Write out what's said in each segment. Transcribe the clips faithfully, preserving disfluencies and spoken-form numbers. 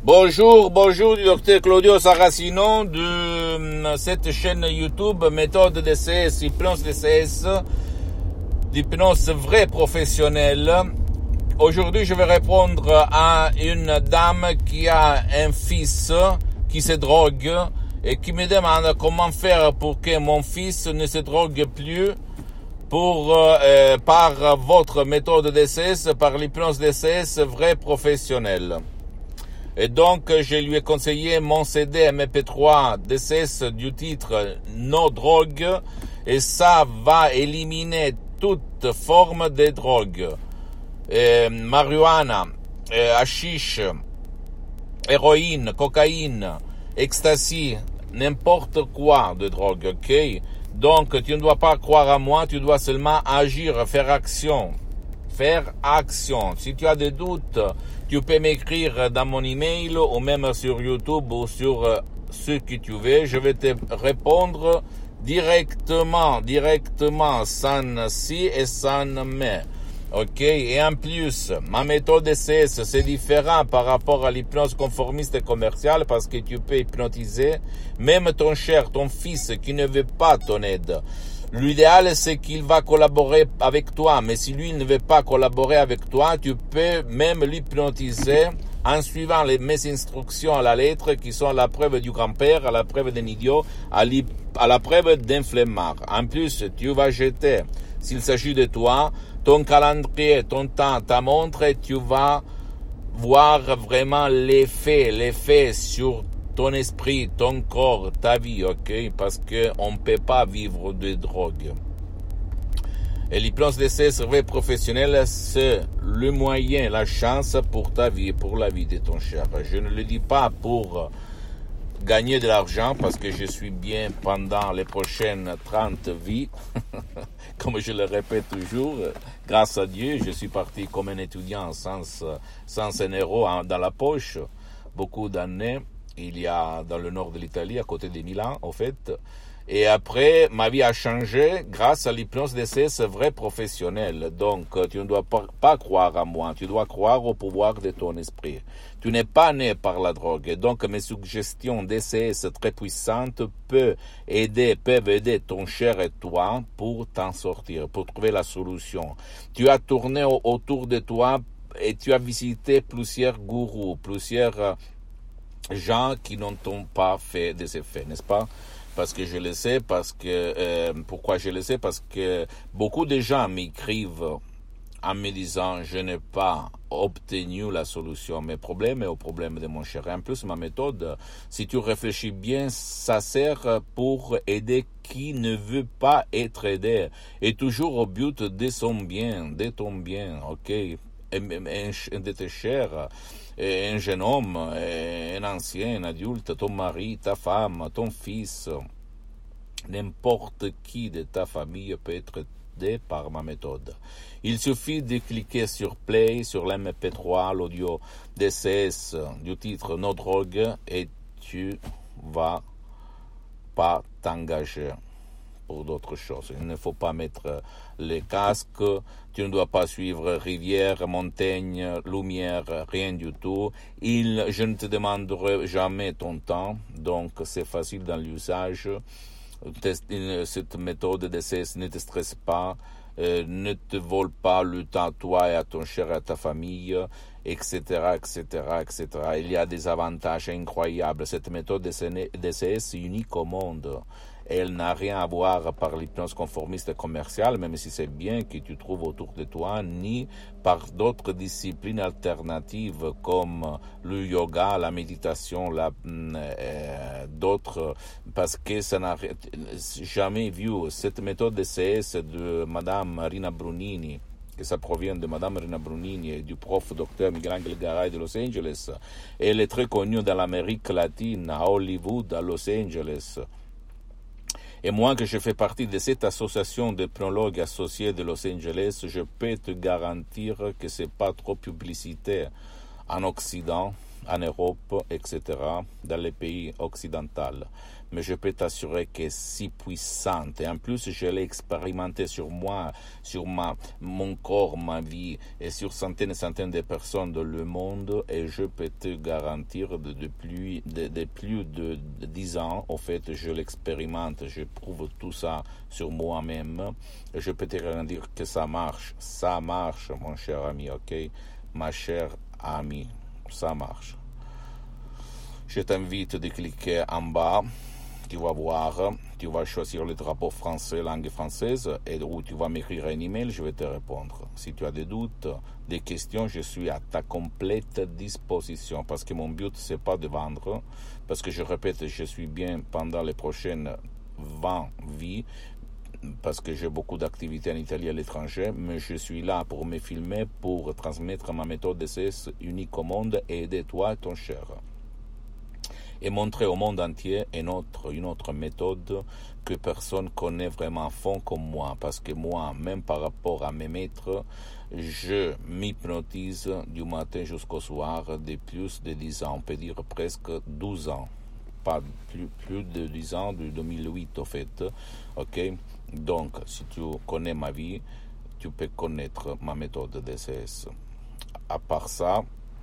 Bonjour, bonjour du docteur Claudio Saracino de cette chaîne YouTube Méthode D C S, Hypnose D C S, d'hypnose vraie professionnelle. Aujourd'hui, je vais répondre à une dame qui a un fils qui se drogue et qui me demande comment faire pour que mon fils ne se drogue plus pour euh, par votre méthode D C S, par l'hypnose D C S vraie professionnelle. Et donc, je lui ai conseillé mon C D M P trois D C S du titre No Drogue, et ça va éliminer toute forme de drogue. Euh, marijuana, euh, hashish, héroïne, cocaïne, ecstasy, n'importe quoi de drogue, ok? Donc, tu ne dois pas croire à moi, tu dois seulement agir, faire action. Faire action. Si tu as des doutes, tu peux m'écrire dans mon email ou même sur YouTube ou sur ce que tu veux. Je vais te répondre directement, directement, sans si et sans mais. Ok? Et en plus, ma méthode D C S, c'est différent par rapport à l'hypnose conformiste et commerciale parce que tu peux hypnotiser même ton cher, ton fils qui ne veut pas ton aide. L'idéal, c'est qu'il va collaborer avec toi, mais si lui ne veut pas collaborer avec toi, tu peux même l'hypnotiser en suivant les, mes instructions à la lettre, qui sont à la preuve du grand-père, à la preuve d'un idiot, à, à la preuve d'un flemmard. En plus, tu vas jeter, s'il s'agit de toi, ton calendrier, ton temps, ta montre, et tu vas voir vraiment l'effet, l'effet sur ton esprit, ton corps, ta vie, ok? Parce que on ne peut pas vivre de drogue. Et l'hypnose D C S vraie professionnelle, c'est le moyen, la chance pour ta vie, pour la vie de ton cher. Je ne le dis pas pour gagner de l'argent, parce que je suis bien pendant les prochaines trente vies. Comme je le répète toujours, grâce à Dieu, je suis parti comme un étudiant sans, sans un euro dans la poche, beaucoup d'années. Il y a dans le nord de l'Italie, à côté de Milan, en fait. Et après, ma vie a changé grâce à l'hypnose D C S vraie professionnelle. Donc, tu ne dois pas, pas croire à moi, tu dois croire au pouvoir de ton esprit. Tu n'es pas né par la drogue. Et donc, mes suggestions D C S très puissantes peuvent aider, peuvent aider ton cher et toi pour t'en sortir, pour trouver la solution. Tu as tourné au, autour de toi et tu as visité plusieurs gourous, plusieurs gens qui n'ont pas fait des effets, n'est-ce pas? Parce que je le sais, parce que euh, pourquoi je le sais? Parce que beaucoup de gens m'écrivent en me disant je n'ai pas obtenu la solution à mes problèmes et aux problèmes de mon cher. Et en plus, ma méthode, si tu réfléchis bien, ça sert pour aider qui ne veut pas être aidé, et toujours au but de son bien, de ton bien, ok? De tes chers, un jeune homme, un ancien, un adulte, ton mari, ta femme, ton fils, n'importe qui de ta famille peut être aidé par ma méthode. Il suffit de cliquer sur Play, sur l'M P trois, l'audio D C S du titre No Drogue, et tu vas pas t'engager pour d'autres choses. Il ne faut pas mettre les casques, tu ne dois pas suivre rivière, montagne, lumière, rien du tout. Il, je ne te demanderai jamais ton temps, donc c'est facile dans l'usage. Cette méthode D C S ne te stresse pas, euh, ne te vole pas le temps à toi et à ton cher et à ta famille, et cetera, et cetera, et cetera. Il y a des avantages incroyables. Cette méthode D C S est unique au monde. Elle n'a rien à voir par l'hypnose conformiste commerciale, même si c'est bien que tu trouves autour de toi, ni par d'autres disciplines alternatives comme le yoga, la méditation, la, euh, d'autres, parce que ça n'a jamais vu cette méthode D C S de Madame Rina Brunini, que ça provient de Madame Rina Brunini et du prof docteur Miguel Garay de Los Angeles. Elle est très connue dans l'Amérique latine, à Hollywood, à Los Angeles. Et moi, que je fais partie de cette association de pneumologues associés de Los Angeles, je peux te garantir que c'est pas trop publicité en Occident, en Europe, et cetera, dans les pays occidentaux. Mais je peux t'assurer que c'est si puissante. Et en plus, je l'ai expérimenté sur moi, sur ma, mon corps, ma vie, et sur centaines et centaines de personnes dans le monde. Et je peux te garantir, de, de, plus, de, de plus de dix ans, au fait, je l'expérimente, je prouve tout ça sur moi-même. Et je peux te garantir que ça marche. Ça marche, mon cher ami, ok? Ma chère amie, ça marche. Je t'invite de cliquer en bas. Tu vas voir, tu vas choisir le drapeau français, langue française, et où tu vas m'écrire un email, je vais te répondre. Si tu as des doutes, des questions, je suis à ta complète disposition, parce que mon but, c'est pas de vendre, parce que je répète, je suis bien pendant les prochaines vingt vies, parce que j'ai beaucoup d'activités en Italie et à l'étranger, mais je suis là pour me filmer, pour transmettre ma méthode D C S unique au monde et aider toi et ton cher. Et montrer au monde entier une autre, une autre méthode que personne connaît vraiment à fond comme moi. Parce que moi, même par rapport à mes maîtres, je m'hypnotise du matin jusqu'au soir de plus de dix ans, on peut dire presque douze ans. Pas plus, plus de dix ans, de deux mille huit au fait. Ok? Donc, si tu connais ma vie, tu peux connaître ma méthode D C S. À part ça,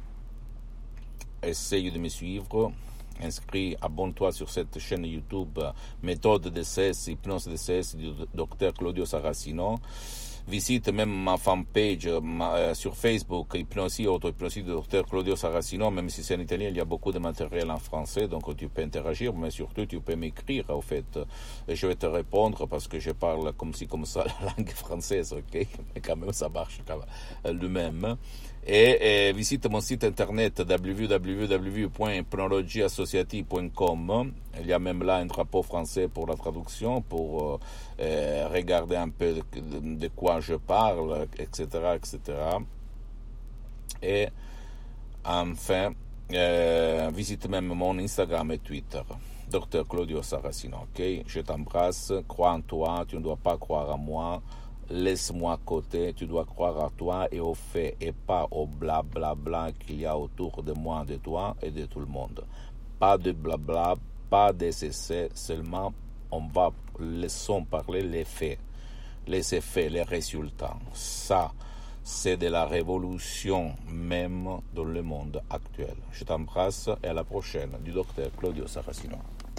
essaye de me suivre. Inscris, abonne-toi sur cette chaîne YouTube Méthode D C S, Hypnose D C S du docteur Claudio Saracino. Visite même ma fanpage ma, sur Facebook, Hypnosie, auto-hypnosie du docteur Claudio Saracino, même si c'est en italien, il y a beaucoup de matériel en français, donc tu peux interagir, mais surtout tu peux m'écrire, au fait. Et je vais te répondre parce que je parle comme ci, comme ça, la langue française, ok? Mais quand même, ça marche quand même, lui-même. Et, et visite mon site internet w w w point hypnologie associative point com. Il y a même là un drapeau français pour la traduction, pour euh, regarder un peu de, de quoi je parle, et cetera, et cetera. Et enfin, euh, visite même mon Instagram et Twitter, docteur Claudio Saracino, ok? Je t'embrasse, crois en toi, tu ne dois pas croire en moi. Laisse-moi à côté, tu dois croire à toi et aux faits et pas au blablabla bla bla qu'il y a autour de moi, de toi et de tout le monde. Pas de blabla, pas des essais, seulement on va laissons parler les faits, les effets, les résultats. Ça, c'est de la révolution même dans le monde actuel. Je t'embrasse et à la prochaine du docteur Claudio Saracino.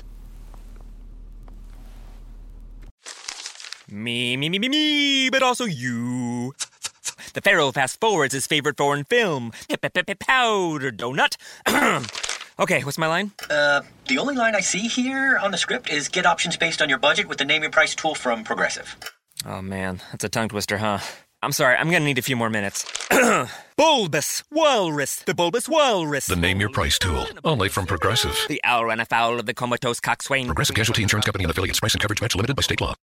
Me, me, me, me, me, but also you. The Pharaoh fast forwards his favorite foreign film, Powder Donut. Okay, what's my line? Uh, the only line I see here on the script is get options based on your budget with the Name Your Price tool from Progressive. Oh man, that's a tongue twister, huh? I'm sorry, I'm gonna need a few more minutes. Bulbous Walrus, the Bulbous Walrus. The Name Your Price tool, only from Progressive. The owl ran afoul of the comatose coxswain. Progressive Casualty Insurance Company and affiliates. Price and coverage match limited by state law.